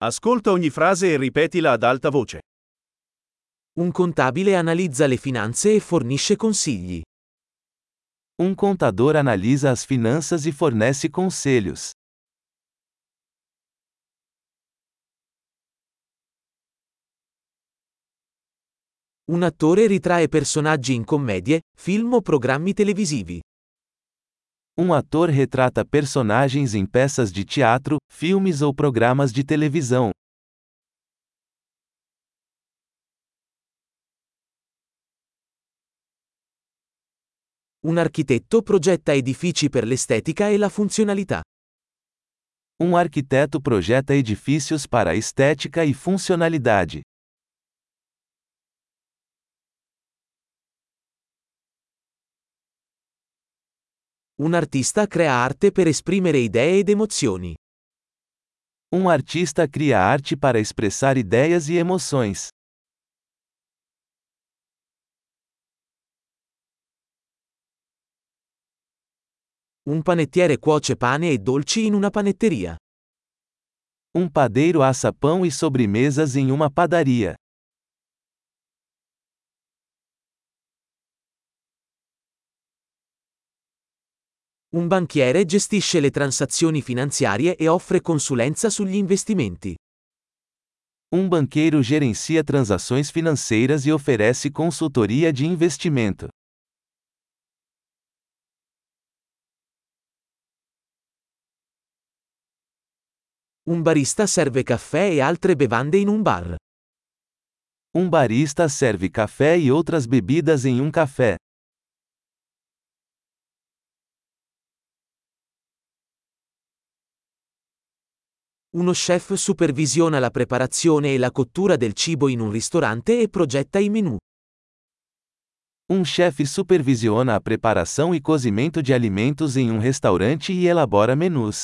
Ascolta ogni frase e ripetila ad alta voce. Un contabile analizza le finanze e fornisce consigli. Um contador analisa as finanças e fornece conselhos. Un attore ritrae personaggi in commedie, film o programmi televisivi. Um ator retrata personagens em peças de teatro, filmes ou programas de televisão. Un architetto progetta edifici per l'estetica e la funzionalità. Um arquiteto projeta edifícios para a estética e funcionalidade. Un artista crea arte per esprimere idee ed emozioni. Um artista cria arte para expressar ideias e emoções. Un panettiere cuoce pane e dolci in una panetteria. Um padeiro assa pão e sobremesas em uma padaria. Un banchiere gestisce le transazioni finanziarie e offre consulenza sugli investimenti. Um banqueiro gerencia transações financeiras e oferece consultoria de investimento. Un barista serve caffè e altre bevande in un bar. Um barista serve café e outras bebidas em um café. Uno chef supervisiona la preparazione e la cottura del cibo in un ristorante e progetta i menù. Um chefe supervisiona a preparação e cozimento de alimentos em um restaurante e elabora menus.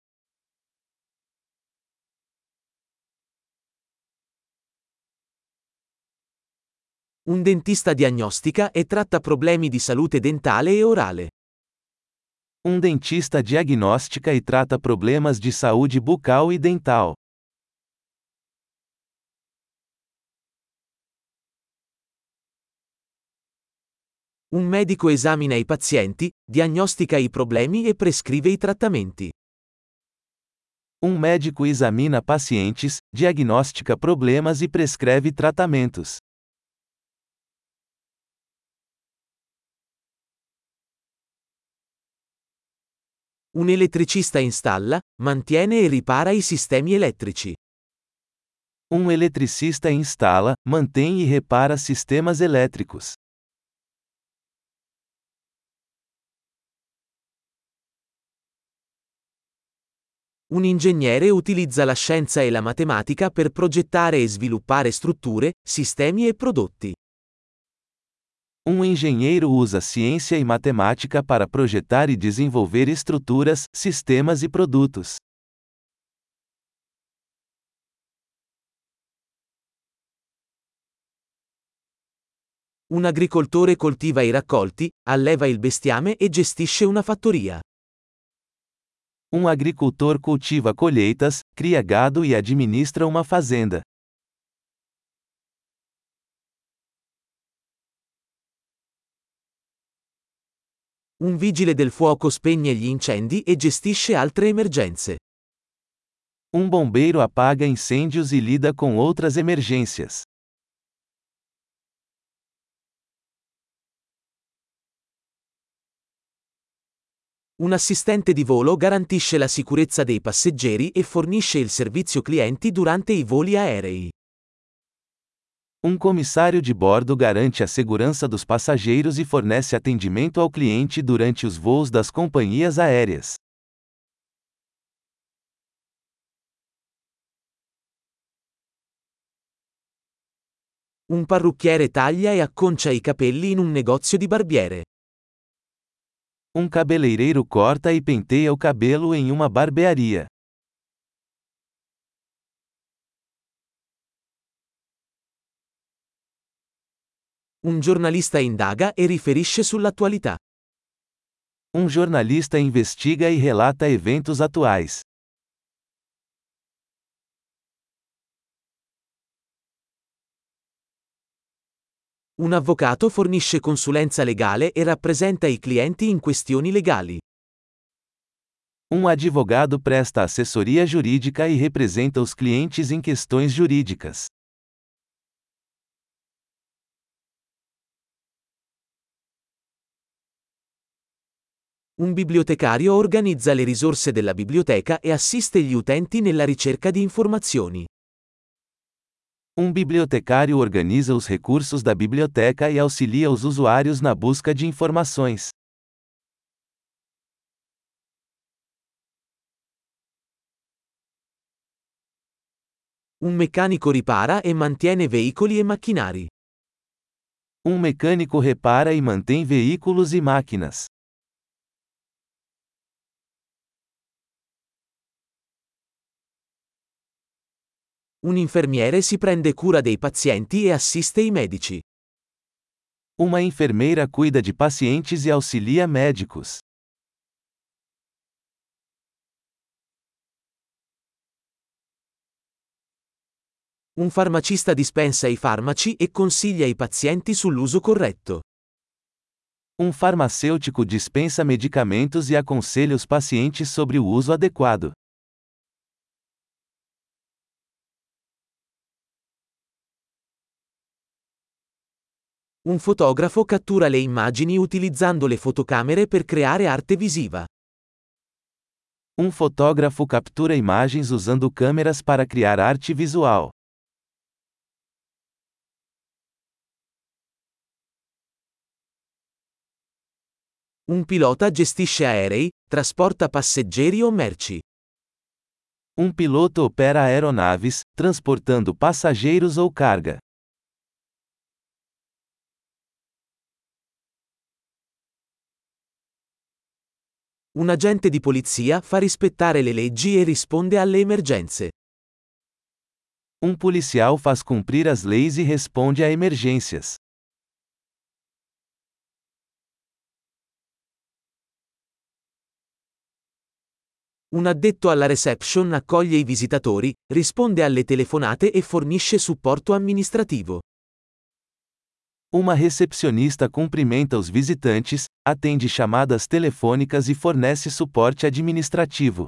Un dentista diagnostica e tratta problemi di salute dentale e orale. Um dentista diagnostica e trata problemas de saúde bucal e dental. Un medico esamina i pazienti, diagnostica i problemi e prescrive i trattamenti. Um médico examina pacientes, diagnostica problemas e prescreve tratamentos. Un elettricista installa, mantiene e ripara i sistemi elettrici. Um eletricista instala, mantém e repara sistemas elétricos. Un ingegnere utilizza la scienza e la matematica per progettare e sviluppare strutture, sistemi e prodotti. Um engenheiro usa ciência e matemática para projetar e desenvolver estruturas, sistemas e produtos. Un agricoltore coltiva i raccolti, alleva il bestiame e gestisce una fattoria. Um agricultor cultiva colheitas, cria gado e administra uma fazenda. Un vigile del fuoco spegne gli incendi e gestisce altre emergenze. Um bombeiro apaga incêndios e lida com outras emergências. Un assistente di volo garantisce la sicurezza dei passeggeri e fornisce il servizio clienti durante i voli aerei. Um comissário de bordo garante a segurança dos passageiros e fornece atendimento ao cliente durante os voos das companhias aéreas. Un parrucchiere taglia e acconcia i capelli in un negozio di barbiere. Um cabeleireiro corta e penteia o cabelo em uma barbearia. Un giornalista indaga e riferisce sull'attualità. Um jornalista investiga e relata eventos atuais. Un avvocato fornisce consulenza legale e rappresenta i clienti in questioni legali. Advogado presta assessoria jurídica e representa os clientes em questões jurídicas. Un bibliotecario organizza le risorse della biblioteca e assiste gli utenti nella ricerca di informazioni. Bibliotecário organiza os recursos da biblioteca e auxilia os usuários na busca de informações. Un meccanico ripara e mantiene veicoli e macchinari. Mecânico repara e mantém veículos e máquinas. Un infermiere si prende cura dei pazienti e assiste i medici. Uma enfermeira cuida de pacientes e auxilia médicos. Un farmacista dispensa i farmaci e consiglia i pazienti sull'uso corretto. Farmacêutico dispensa medicamentos e aconselha os pacientes sobre o uso adequado. Un fotografo cattura le immagini utilizzando le fotocamere per creare arte visiva. Fotógrafo captura imagens usando câmeras para criar arte visual. Un pilota gestisce aerei, trasporta passeggeri o merci. Piloto opera aeronaves, transportando passageiros ou carga. Un agente di polizia fa rispettare le leggi e risponde alle emergenze. Policial faz cumprir as leis e responde a emergências. Un addetto alla reception accoglie i visitatori, risponde alle telefonate e fornisce supporto amministrativo. Uma recepcionista cumprimenta os visitantes, atende chamadas telefônicas e fornece suporte administrativo.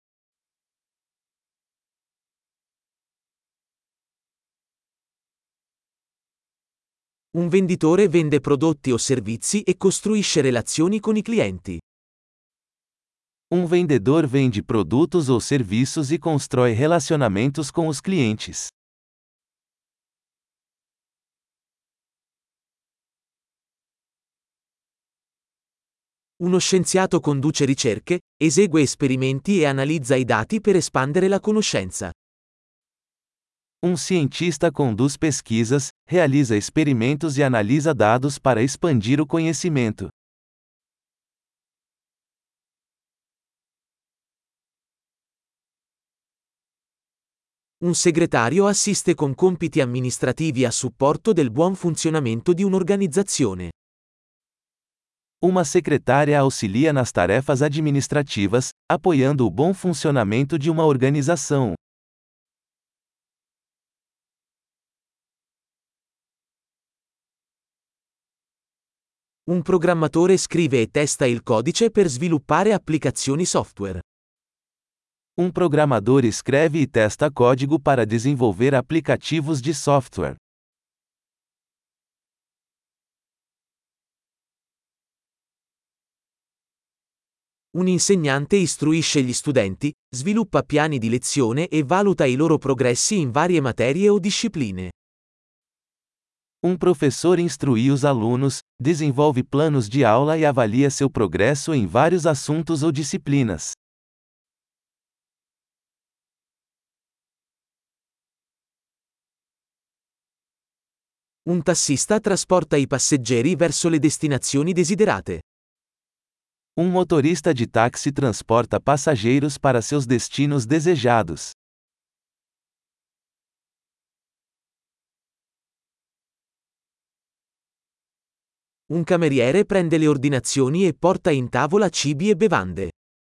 Un venditore vende prodotti o servizi e costruisce relazioni con i clienti. Vendedor vende produtos ou serviços e constrói relacionamentos com os clientes. Uno scienziato conduce ricerche, esegue esperimenti e analizza i dati per espandere la conoscenza. Cientista conduz pesquisas, realiza experimentos e analisa dados para expandir o conhecimento. Un segretario assiste con compiti amministrativi a supporto del buon funzionamento di un'organizzazione. Uma secretária auxilia nas tarefas administrativas, apoiando o bom funcionamento de uma organização. Un programmatore scrive e testa il codice per sviluppare applicazioni software. Programador escreve e testa código para desenvolver aplicativos de software. Un insegnante istruisce gli studenti, sviluppa piani di lezione e valuta i loro progressi in varie materie o discipline. Professor instrui os alunos, desenvolve planos de aula e avalia seu progresso em vários assuntos ou disciplinas. Un tassista trasporta i passeggeri verso le destinazioni desiderate. Motorista de táxi transporta passageiros para seus destinos desejados. Un cameriere prende le ordinazioni e porta in tavola cibi e bevande.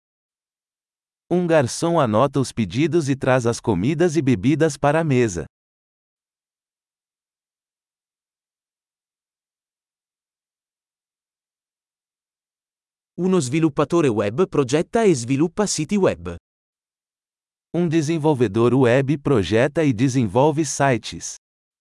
Garçom anota os pedidos e traz as comidas e bebidas para a mesa. Uno sviluppatore web progetta e sviluppa siti web. Um desenvolvedor web projeta e desenvolve sites.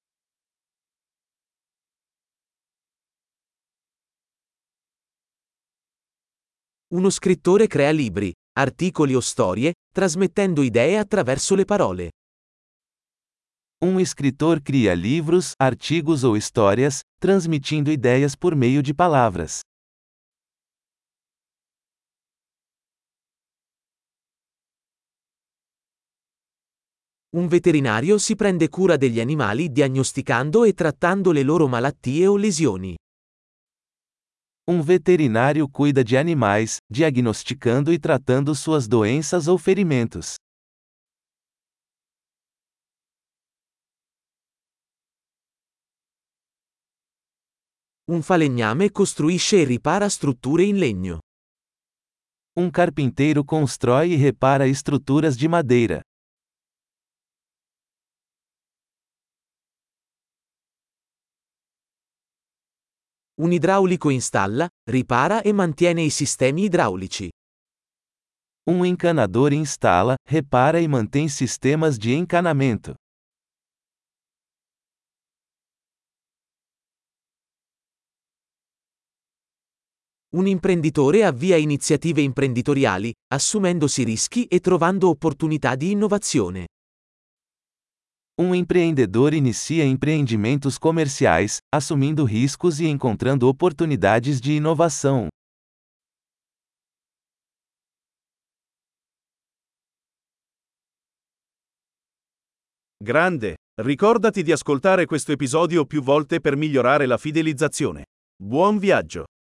Uno scrittore crea libri, articoli o storie, trasmettendo idee attraverso le parole. Um escritor cria livros, artigos ou histórias, transmitindo ideias por meio de palavras. Un veterinario si prende cura degli animali diagnosticando e trattando le loro malattie o lesioni. Um veterinário cuida de animais, diagnosticando e tratando suas doenças ou ferimentos. Un falegname costruisce e ripara strutture in legno. Um carpinteiro constrói e repara estruturas de madeira. Un idraulico installa, ripara e mantiene i sistemi idraulici. Um encanador instala, repara e mantém sistemas de encanamento. Un imprenditore avvia iniziative imprenditoriali, assumendosi rischi e trovando opportunità di innovazione. Um empreendedor inicia empreendimentos comerciais, assumindo riscos e encontrando oportunidades de inovação. Grande! Ricordati di ascoltare questo episodio più volte per migliorare la fidelizzazione. Buon viaggio!